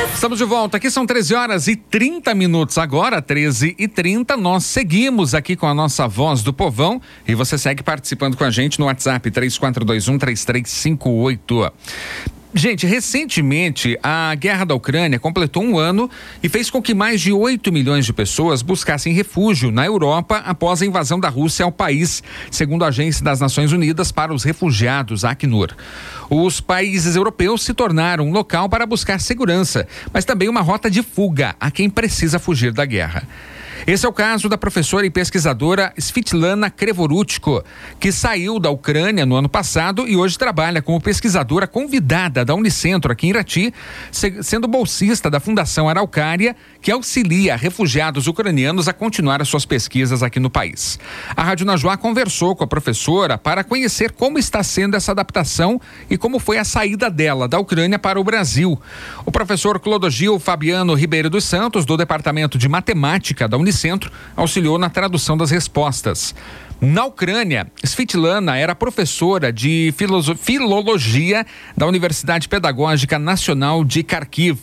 Estamos de volta, aqui são 13h30 agora, 13h30, nós seguimos aqui com a nossa Voz do Povão e você segue participando com a gente no WhatsApp 3421-3358. Gente, recentemente a guerra da Ucrânia completou um ano e fez com que mais de 8 milhões de pessoas buscassem refúgio na Europa após a invasão da Rússia ao país, segundo a Agência das Nações Unidas para os Refugiados, a Acnur. Os países europeus se tornaram um local para buscar segurança, mas também uma rota de fuga a quem precisa fugir da guerra. Esse é o caso da professora e pesquisadora Svitlana Krevorutko, que saiu da Ucrânia no ano passado e hoje trabalha como pesquisadora convidada da Unicentro aqui em Irati, sendo bolsista da Fundação Araucária, que auxilia refugiados ucranianos a continuar as suas pesquisas aqui no país. A Rádio Najuá conversou com a professora para conhecer como está sendo essa adaptação e como foi a saída dela da Ucrânia para o Brasil. O professor Clodogil Fabiano Ribeiro dos Santos, do Departamento de Matemática da Unicentro, auxiliou na tradução das respostas. Na Ucrânia, Svitlana era professora de filologia da Universidade Pedagógica Nacional de Kharkiv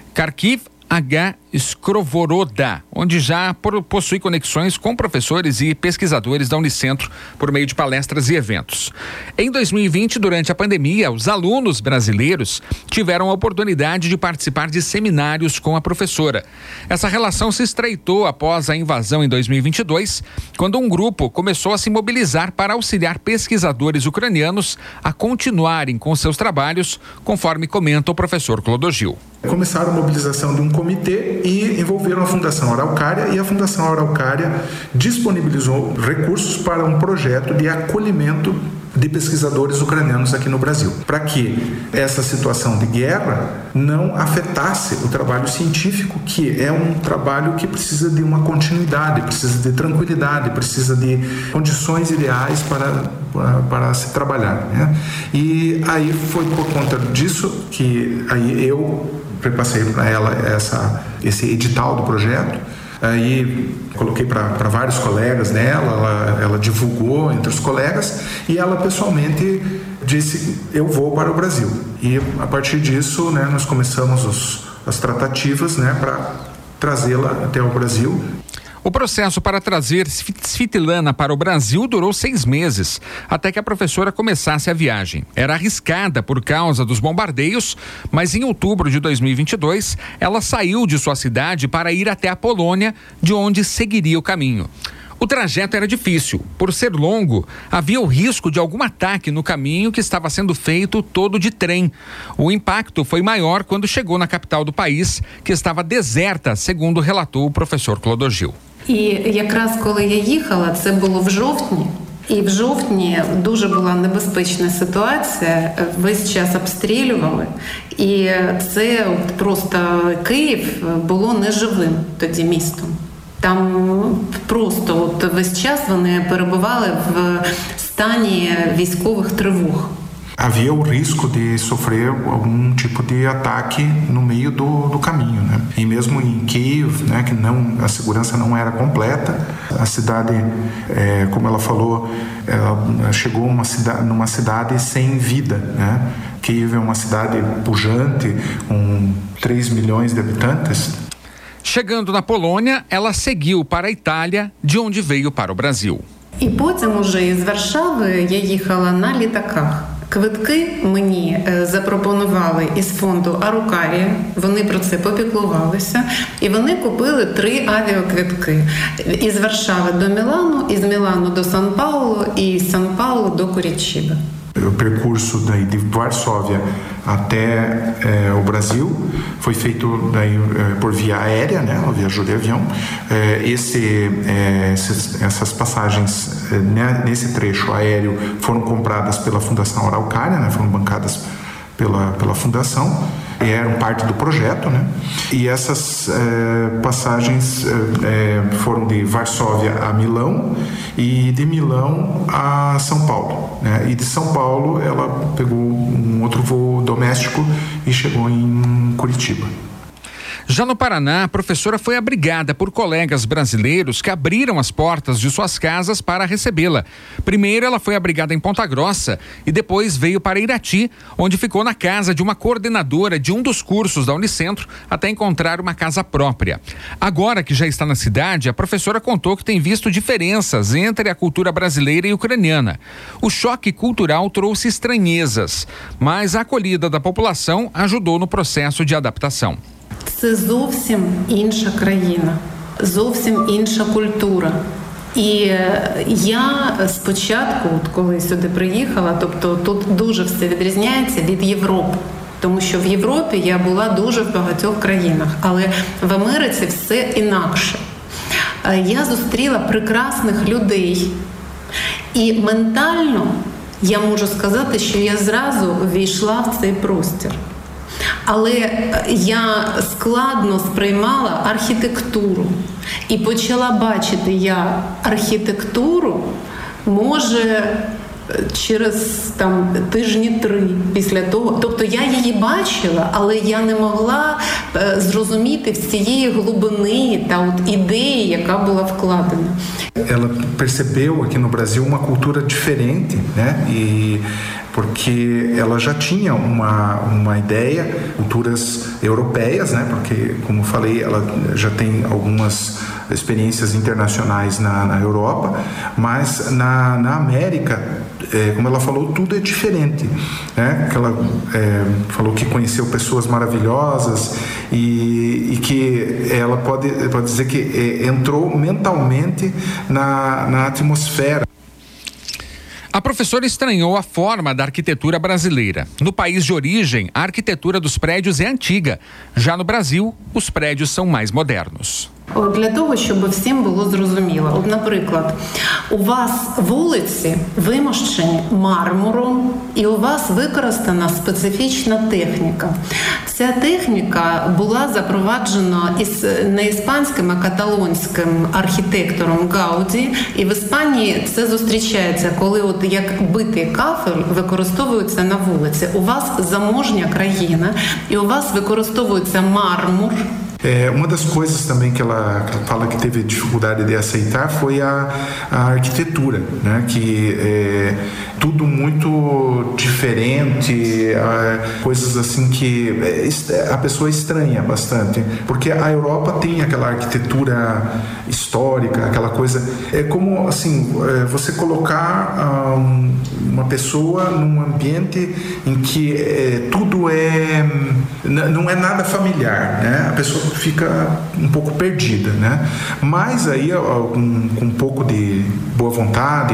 H. Skrovoroda, onde já possui conexões com professores e pesquisadores da Unicentro por meio de palestras e eventos. Em 2020, durante a pandemia, os alunos brasileiros tiveram a oportunidade de participar de seminários com a professora. Essa relação se estreitou após a invasão em 2022, quando um grupo começou a se mobilizar para auxiliar pesquisadores ucranianos a continuarem com seus trabalhos, conforme comenta o professor Clodogil. Começaram a mobilização de um comitê e envolveram a Fundação Araucária, e a Fundação Araucária disponibilizou recursos para um projeto de acolhimento de pesquisadores ucranianos aqui no Brasil, para que essa situação de guerra não afetasse o trabalho científico, que é um trabalho que precisa de uma continuidade, precisa de tranquilidade, precisa de condições ideais para se trabalhar, né? E aí foi por conta disso que aí eu repassei para ela esse edital do projeto. Aí coloquei para vários colegas dela, ela divulgou entre os colegas e ela pessoalmente disse: eu vou para o Brasil. E a partir disso, né, nós começamos as tratativas, né, para trazê-la até o Brasil. O processo para trazer Svitlana para o Brasil durou 6 meses, até que a professora começasse a viagem. Era arriscada por causa dos bombardeios, mas em outubro de 2022, ela saiu de sua cidade para ir até a Polônia, de onde seguiria o caminho. O trajeto era difícil. Por ser longo, havia o risco de algum ataque no caminho que estava sendo feito todo de trem. O impacto foi maior quando chegou na capital do país, que estava deserta, segundo relatou o professor Clodogil. І якраз коли я їхала, це було в жовтні. І в жовтні дуже була небезпечна ситуація, весь час обстрілювали. І це просто Київ було неживим тоді містом. Там просто весь час вони перебували в стані військових тривог. Havia o risco de sofrer algum tipo de ataque no meio do caminho, né? E mesmo em Kiev, né, que a segurança não era completa, a cidade, como ela falou, ela chegou numa cidade sem vida, né? Kiev é uma cidade pujante, com 3 milhões de habitantes. Chegando na Polônia, ela seguiu para a Itália, de onde veio para o Brasil. І потім уже із Варшави я їхала на літаках. Квитки мені запропонували із фонду Арукарія, вони про це попіклувалися, і вони купили 3 авіаквитки із Варшави до Мілану, із Мілану до Сан-Паулу і з Сан-Паулу до Куритиба. O percurso daí de Varsóvia até o Brasil foi feito daí por via aérea, né? Ela viajou de avião. Essas passagens nesse trecho aéreo foram compradas pela Fundação Araucária, né? Foram bancadas pela fundação, eram parte do projeto, né? E essas passagens foram de Varsóvia a Milão e de Milão a São Paulo, né? E de São Paulo ela pegou um outro voo doméstico e chegou em Curitiba. Já no Paraná, a professora foi abrigada por colegas brasileiros que abriram as portas de suas casas para recebê-la. Primeiro, ela foi abrigada em Ponta Grossa e depois veio para Irati, onde ficou na casa de uma coordenadora de um dos cursos da Unicentro até encontrar uma casa própria. Agora que já está na cidade, a professora contou que tem visto diferenças entre a cultura brasileira e ucraniana. O choque cultural trouxe estranhezas, mas a acolhida da população ajudou no processo de adaptação. Це зовсім інша країна, зовсім інша культура. І я спочатку, коли сюди приїхала, тобто тут дуже все відрізняється від Європи. Тому що в Європі я була дуже в багатьох країнах, але в Америці все інакше. Я зустріла прекрасних людей. І ментально я можу сказати, що я зразу ввійшла в цей простір. Але я складно сприймала архітектуру і почала бачити я архітектуру, може, через тижні 3 після того. Тобто я її бачила, але я не могла зрозуміти всієї глибини та ідеї, яка була вкладена. Ela percebeu aqui no Brasil uma cultura diferente, né? Porque ela já tinha uma ideia, culturas europeias, né? Porque, como eu falei, ela já tem algumas experiências internacionais na Europa, mas na América, como ela falou, tudo é diferente, né? Ela falou que conheceu pessoas maravilhosas e que ela pode dizer que entrou mentalmente na atmosfera. A professora estranhou a forma da arquitetura brasileira. No país de origem, a arquitetura dos prédios é antiga. Já no Brasil, os prédios são mais modernos. Для того, щоб всім було зрозуміло. Наприклад, у вас вулиці вимощені мармуром і у вас використана специфічна техніка. Ця техніка була запроваджена не іспанським, а каталонським архітектором Гауді. І в Іспанії це зустрічається, коли як битий кафель використовується на вулиці. У вас заможня країна і у вас використовується мармур. Uma das coisas também que ela fala que teve dificuldade de aceitar foi a arquitetura, né? Que tudo muito diferente, coisas assim que a pessoa estranha bastante, porque a Europa tem aquela arquitetura histórica, aquela coisa, é como assim, você colocar uma pessoa num ambiente em que tudo não é nada familiar, né? A pessoa fica um pouco perdida, né? Mas aí, com um pouco de boa vontade,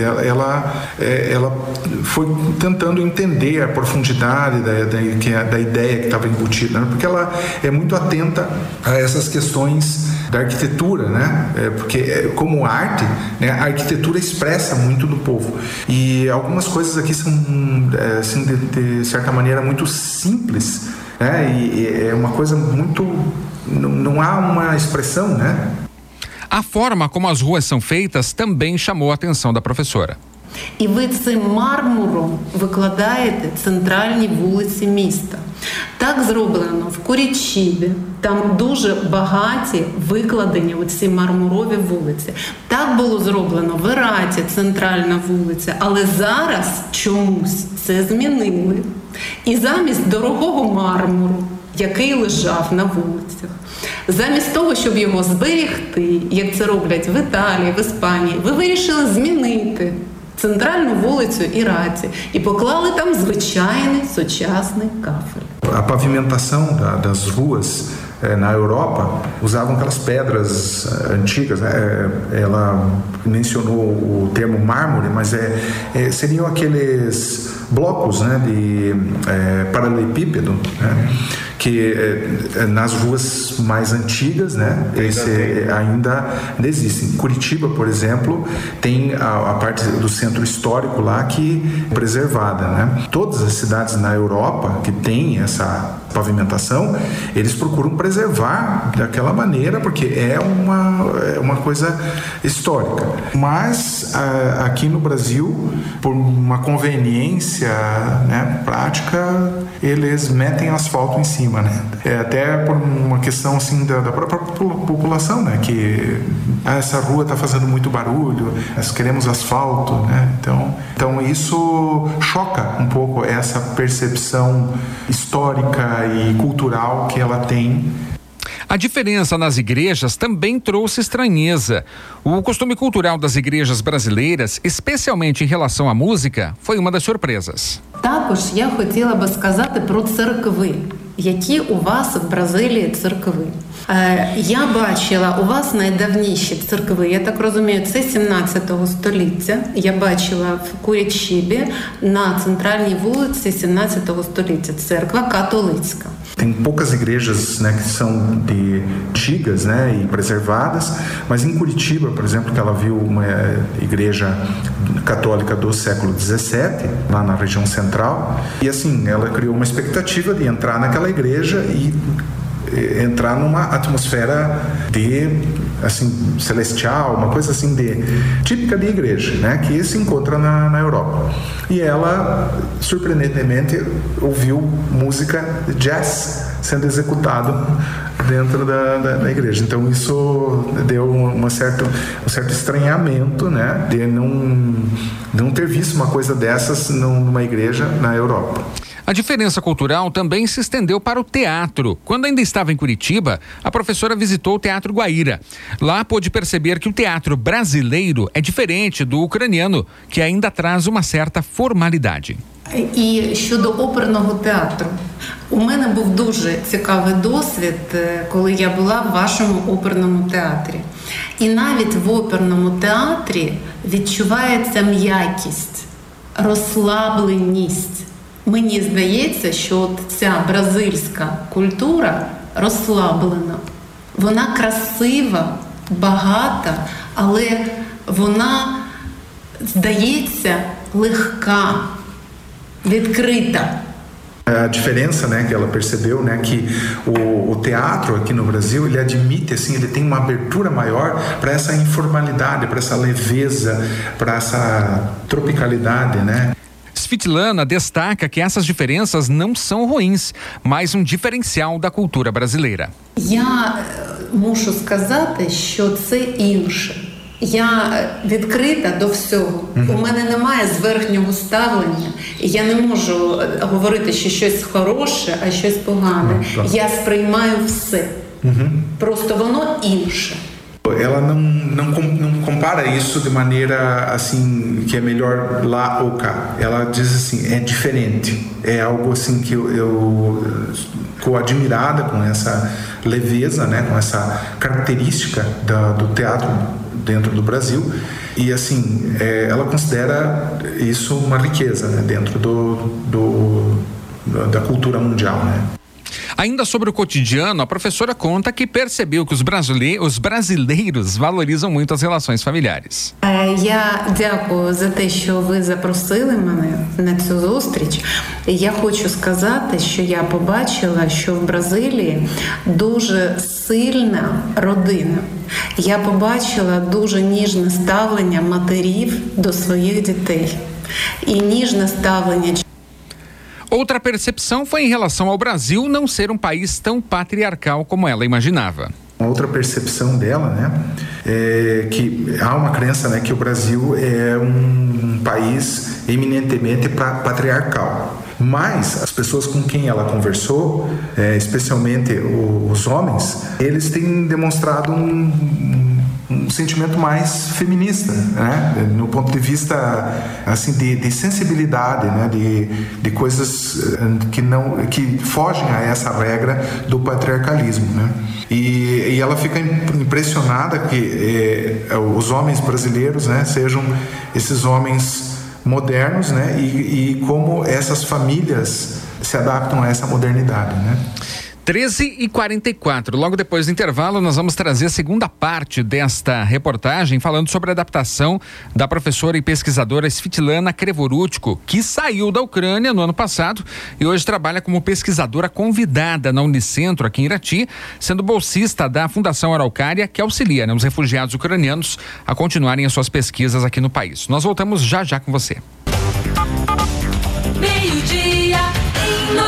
ela foi tentando entender a profundidade da ideia que estava embutida, né? Porque ela é muito atenta a essas questões da arquitetura, né? Porque como arte, né, a arquitetura expressa muito do povo. E algumas coisas aqui são, assim, de certa maneira, muito simples, né? E é uma coisa muito... Não há uma expressão, né? A forma como as ruas são feitas também chamou a atenção da professora. І ви цим мармуром викладаєте центральні вулиці міста. Так зроблено в Курічібі, там дуже багаті викладені оці мармурові вулиці. Так було зроблено в Іраті, центральна вулиця, але зараз чомусь це змінили. І замість дорогого мармуру, який лежав на вулицях, замість того, щоб його зберегти, як це роблять в Італії, в Іспанії, ви вирішили змінити центральну вулицю Іраті і поклали там звичайний сучасний кафель. A pavimentação das ruas na Europa usavam aquelas pedras antigas, né? Ela mencionou o termo mármore, mas seriam aqueles blocos, né, de paralelepípedo, né? Que nas ruas mais antigas, né, ainda existem. Curitiba, por exemplo, tem a parte do centro histórico lá que é preservada, né? Todas as cidades na Europa que têm essa pavimentação, eles procuram preservar daquela maneira, porque é uma coisa histórica. Mas aqui no Brasil, por uma conveniência, né, prática, eles metem asfalto em cima. aproxima, né? Até por uma questão assim da própria população, né? Que essa rua está fazendo muito barulho, nós queremos asfalto, né? Então isso choca um pouco essa percepção histórica e cultural que ela tem. A diferença nas igrejas também trouxe estranheza. O costume cultural das igrejas brasileiras, especialmente em relação à música, foi uma das surpresas. Також я хотіла би сказати про церкви. Які у вас в Бразилії церкви? Я бачила у вас найдавніші церкви, я так розумію, це 17 століття. Я бачила в Курitiba, на центральній вулиці 17 століття, церква католицька. Tem poucas igrejas, né, que são de antigas, né, e preservadas, mas em Curitiba, por exemplo, que ela viu uma igreja católica do século XVII, lá na região central, e assim, ela criou uma expectativa de entrar naquela igreja e entrar numa atmosfera de, assim, celestial, uma coisa assim típica de igreja, né, que se encontra na Europa. E ela, surpreendentemente, ouviu música jazz sendo executado dentro da igreja. Então isso deu um certo estranhamento, né, de não ter visto uma coisa dessas numa igreja na Europa. A diferença cultural também se estendeu para o teatro. Quando ainda estava em Curitiba, a professora visitou o Teatro Guaíra. Lá pôde perceber que o teatro brasileiro é diferente do ucraniano, que ainda traz uma certa formalidade. І щодо оперного театру, у мене був дуже цікавий досвід, коли я була в вашому оперному театрі. І навіть в оперному театрі відчувається м'якість, розслабленість. Мені здається, що от ця бразильська культура розслаблена. Вона красива, багата, але вона, здається, легка, відкрита. A diferença, né, que ela percebeu, né, que o teatro aqui no Brasil, ele admite, assim, ele tem uma abertura maior para essa informalidade, para essa leveza, para essa tropicalidade, né? Svitlana destaca que essas diferenças não são ruins, mas um diferencial da cultura brasileira. Я мушу сказати, що це інше. Я відкрита до всього. У мене немає зверхнього ставлення. І я не можу говорити, що щось хороше, а щось погане. Я сприймаю все. Просто воно інше. Ela não compara isso de maneira assim que é melhor lá ou cá. Ela diz assim, é diferente. É algo assim que eu ficou admirada com essa leveza, né, com essa característica do teatro dentro do Brasil. E assim, ela considera isso uma riqueza, né, dentro da cultura mundial, né? Ainda sobre o cotidiano, a professora conta que percebeu que os brasileiros valorizam muito as relações familiares. Я дякую за те, що ви запросили мене на цю зустріч. Я хочу сказати, що я побачила, що в Бразилії дуже сильна родина. Я побачила дуже ніжне ставлення матерів до своїх дітей. І ніжне ставлення. Outra percepção foi em relação ao Brasil não ser um país tão patriarcal como ela imaginava. Outra percepção dela, né, é que há uma crença, né, que o Brasil é um país eminentemente patriarcal. Mas as pessoas com quem ela conversou, especialmente os homens, eles têm demonstrado um sentimento mais feminista, né? No ponto de vista assim de sensibilidade, né? De coisas que fogem a essa regra do patriarcalismo, né? E ela fica impressionada que os homens brasileiros, né, sejam esses homens modernos, né? E como essas famílias se adaptam a essa modernidade, né? 13h44. Logo depois do intervalo, nós vamos trazer a segunda parte desta reportagem, falando sobre a adaptação da professora e pesquisadora Svitlana Krevorutko, que saiu da Ucrânia no ano passado e hoje trabalha como pesquisadora convidada na Unicentro, aqui em Irati, sendo bolsista da Fundação Araucária, que auxilia, né, os refugiados ucranianos a continuarem as suas pesquisas aqui no país. Nós voltamos já com você. Meio-dia em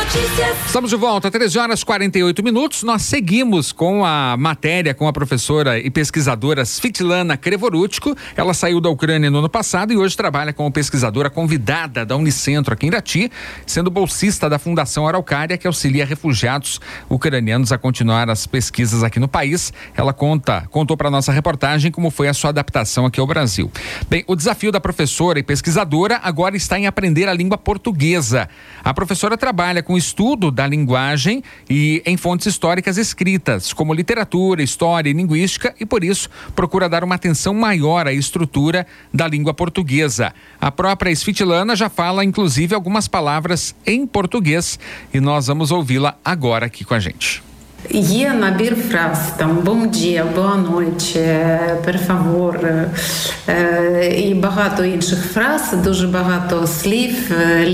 Estamos de volta, 13h48. Nós seguimos com a matéria com a professora e pesquisadora Svitlana Krevorutko. Ela saiu da Ucrânia no ano passado e hoje trabalha como pesquisadora convidada da Unicentro aqui em Irati, sendo bolsista da Fundação Araucária, que auxilia refugiados ucranianos a continuar as pesquisas aqui no país. Ela contou para nossa reportagem como foi a sua adaptação aqui ao Brasil. Bem, o desafio da professora e pesquisadora agora está em aprender a língua portuguesa. A professora trabalha com o estudo da linguagem e em fontes históricas escritas, como literatura, história e linguística, e por isso procura dar uma atenção maior à estrutura da língua portuguesa. A própria Svitlana já fala, inclusive, algumas palavras em português e nós vamos ouvi-la agora aqui com a gente. Є набір фраз, там «Bom dia», «Boa noite», «Per favor» і багато інших фраз, дуже багато слів,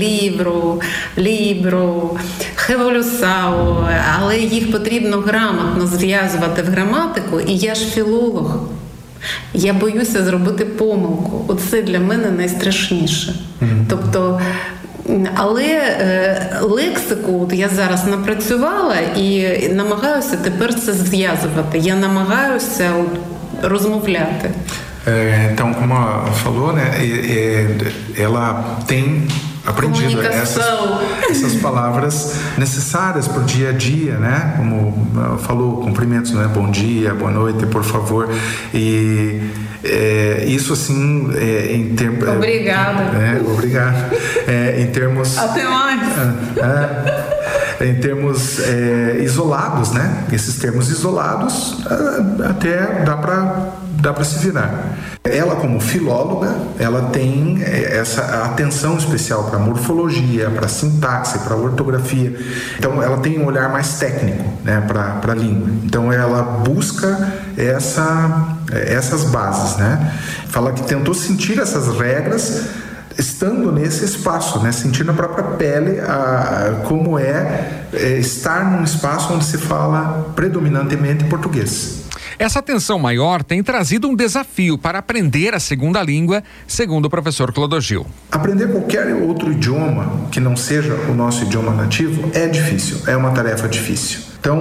«libro», «revolução», але їх потрібно грамотно зв'язувати в граматику, і я ж філолог. Я боюся зробити помилку. Оце для мене найстрашніше. Тобто, але лексику я зараз напрацювала і намагаюся тепер це зв'язувати. Я намагаюся розмовляти. Então, como ela falou, né, ela tem aprendido essas palavras necessárias para o dia a dia, né? Como falou, cumprimentos, né? Bom dia, boa noite, por favor. E isso assim, em termos. Obrigada. Obrigado. Em termos. Até mais. Em termos isolados, né? Esses termos isolados até dá para se virar. Ela, como filóloga, ela tem essa atenção especial para morfologia, para sintaxe, para ortografia. Então, ela tem um olhar mais técnico, né, para a língua. Então, ela busca essas bases, né? Fala que tentou sentir essas regras estando nesse espaço, né? Sentindo na própria pele como estar num espaço onde se fala predominantemente português. Essa atenção maior tem trazido um desafio para aprender a segunda língua, segundo o professor Clodogil. Aprender qualquer outro idioma que não seja o nosso idioma nativo é difícil, é uma tarefa difícil. Então,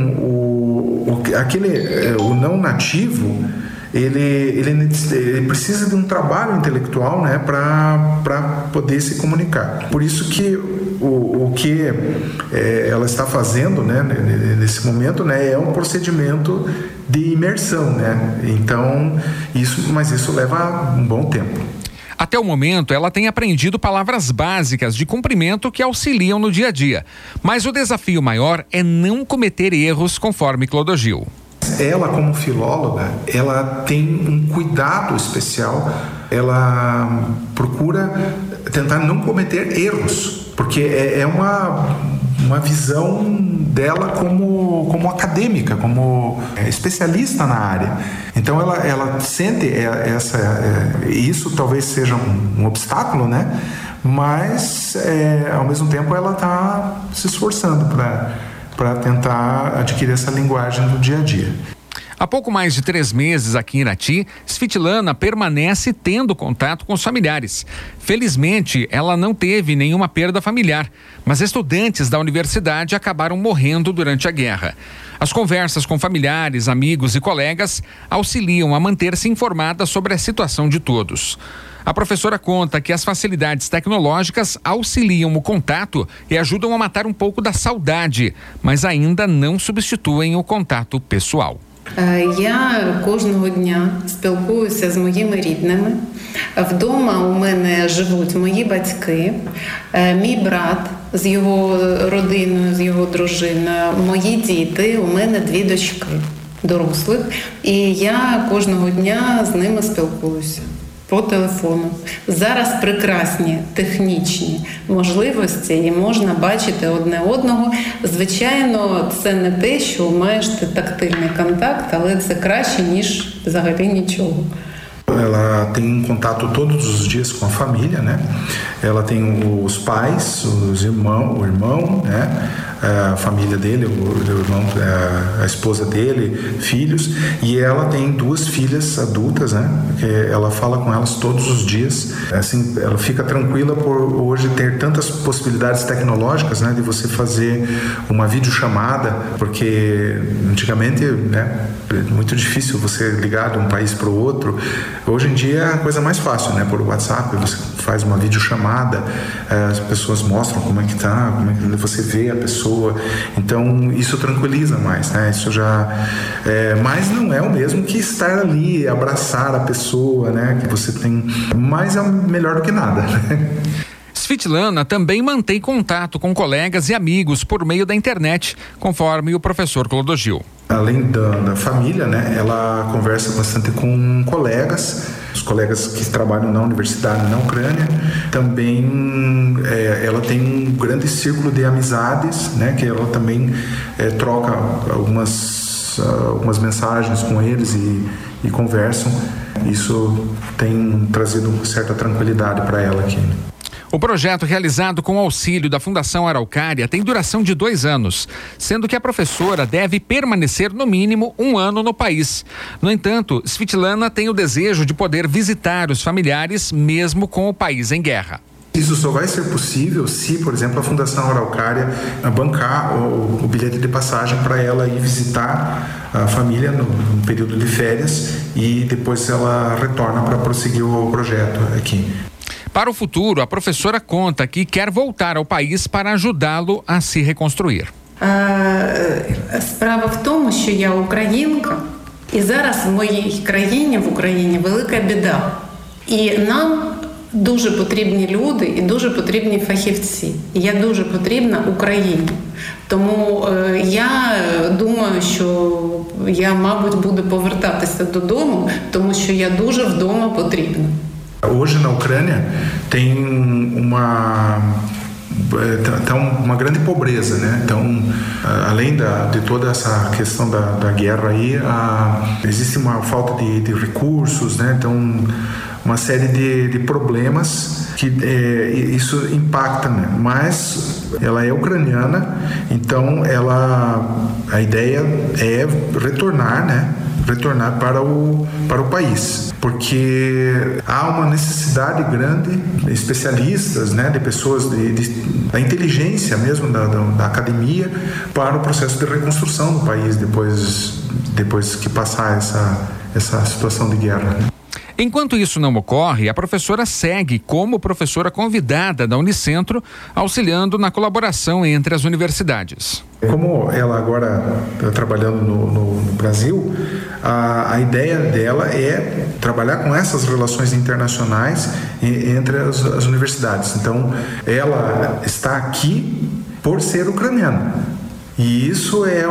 o não nativo, ele precisa de um trabalho intelectual, né, para poder se comunicar. Por isso que o que ela está fazendo, né, nesse momento, né, é um procedimento de imersão, né? Então, mas isso leva um bom tempo. Até o momento, ela tem aprendido palavras básicas de cumprimento que auxiliam no dia a dia. Mas o desafio maior é não cometer erros, conforme Clodogil. Ela, como filóloga, ela tem um cuidado especial, ela procura tentar não cometer erros, porque é uma visão dela como acadêmica, como especialista na área. Então ela sente isso talvez seja um obstáculo, né? Mas ao mesmo tempo ela está se esforçando para tentar adquirir essa linguagem do dia a dia. Há pouco mais de 3 meses aqui em Irati, Svitlana permanece tendo contato com os familiares. Felizmente, ela não teve nenhuma perda familiar, mas estudantes da universidade acabaram morrendo durante a guerra. As conversas com familiares, amigos e colegas auxiliam a manter-se informada sobre a situação de todos. A professora conta que as facilidades tecnológicas auxiliam o contato e ajudam a matar um pouco da saudade, mas ainda não substituem o contato pessoal. Я кожного дня спілкуюся з моїми рідними. Вдома у мене живуть мої батьки, мій брат з його родиною, з його дружиною, мої діти, у мене 2 дочки дорослих. І я кожного дня з ними спілкуюся по телефону. Зараз прекрасні технічні можливості і можна бачити одне одного. Звичайно, це не те, що маєш тактильний контакт, але це краще, ніж взагалі нічого. Ela tem contato todos os dias com a família, né? Ela tem os pais, o irmão, né? a família dele, o irmão, a esposa dele, filhos, e ela tem 2 filhas adultas, né? Que ela fala com elas todos os dias. Assim, ela fica tranquila por hoje ter tantas possibilidades tecnológicas, né? De você fazer uma videochamada, porque antigamente, né? É muito difícil você ligar de um país para o outro. Hoje em dia é a coisa mais fácil, né? Por WhatsApp, você faz uma videochamada, as pessoas mostram como é que tá, como é que você vê a pessoa. Então isso tranquiliza mais, né? Isso já mas não é o mesmo que estar ali, abraçar a pessoa, né? Que você tem, mas é melhor do que nada, né? Svitlana também mantém contato com colegas e amigos por meio da internet, conforme o professor Clodogil. Além da família, né, ela conversa bastante com colegas, os colegas que trabalham na universidade na Ucrânia. Também ela tem um grande círculo de amizades, né, que ela também troca algumas mensagens com eles e conversam. Isso tem trazido certa tranquilidade para ela aqui. O projeto, realizado com o auxílio da Fundação Araucária, tem duração de 2 anos, sendo que a professora deve permanecer no mínimo 1 ano no país. No entanto, Svitlana tem o desejo de poder visitar os familiares mesmo com o país em guerra. Isso só vai ser possível se, por exemplo, a Fundação Araucária bancar o bilhete de passagem para ela ir visitar a família no período de férias, e depois ela retorna para prosseguir o projeto aqui. Para o futuro, a professora conta que quer voltar ao país para ajudá-lo a se reconstruir. Справа в тому, що я українка, і зараз в моїй країні, в Україні, велика біда. І нам дуже потрібні люди і дуже потрібні фахівці. І я дуже потрібна Україні. Тому я думаю, що я, мабуть, буду повертатися додому, тому що я дуже вдома потрібна. Hoje na Ucrânia tem uma grande pobreza, né? Então, além de toda essa questão da guerra aí, existe uma falta de recursos, né? Então, uma série de problemas que isso impacta, né? Mas ela é ucraniana, então a ideia é retornar, né? Retornar para o país, porque há uma necessidade grande de especialistas, né, de pessoas da inteligência mesmo, da academia, para o processo de reconstrução do país depois que passar essa situação de guerra, né? Enquanto isso não ocorre, a professora segue como professora convidada da Unicentro, auxiliando na colaboração entre as universidades. Como ela agora está trabalhando no Brasil, a ideia dela é trabalhar com essas relações internacionais entre as universidades. Então, ela está aqui por ser ucraniana. E isso é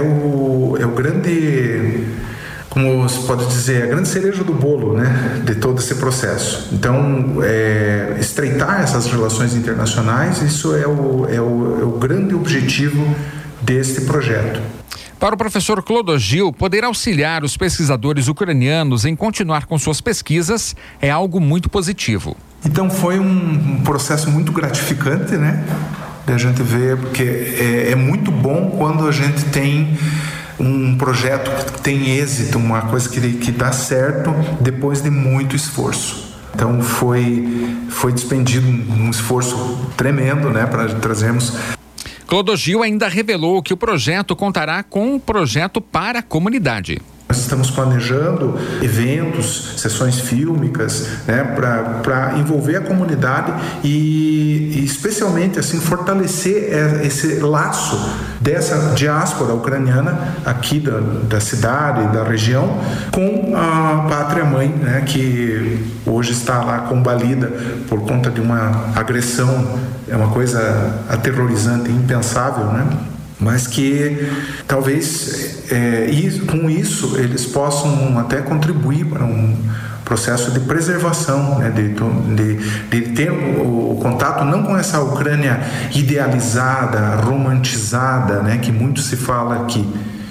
o grande... como se pode dizer, a grande cereja do bolo, né, de todo esse processo. Então, estreitar essas relações internacionais, isso é o grande objetivo deste projeto. Para o professor Clodogil, poder auxiliar os pesquisadores ucranianos em continuar com suas pesquisas é algo muito positivo. Então, foi um processo muito gratificante, né, da gente ver, porque é muito bom quando a gente tem um projeto que tem êxito, uma coisa que dá certo depois de muito esforço. Então foi despendido um esforço tremendo, né, para trazermos. Clodogil ainda revelou que o projeto contará com um projeto para a comunidade. Nós estamos planejando eventos, sessões fílmicas, né, para envolver a comunidade e especialmente assim fortalecer esse laço dessa diáspora ucraniana aqui da cidade, da região, com a pátria-mãe, né, que hoje está lá combalida por conta de uma agressão, é uma coisa aterrorizante, impensável, né? Mas que talvez com isso eles possam até contribuir para um processo de preservação, né, de ter o contato não com essa Ucrânia idealizada, romantizada, né, que muito se fala aqui,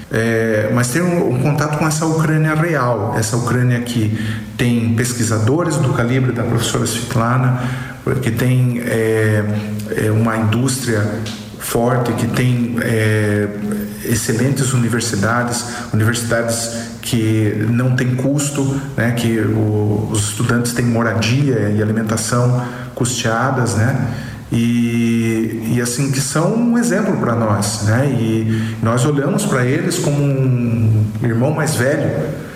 mas ter um contato com essa Ucrânia real, essa Ucrânia que tem pesquisadores do calibre da professora Svitlana, que tem uma indústria forte, que tem excelentes universidades que não tem custo, né, que os estudantes têm moradia e alimentação custeadas, né, e assim, que são um exemplo para nós, né, e nós olhamos para eles como um irmão mais velho,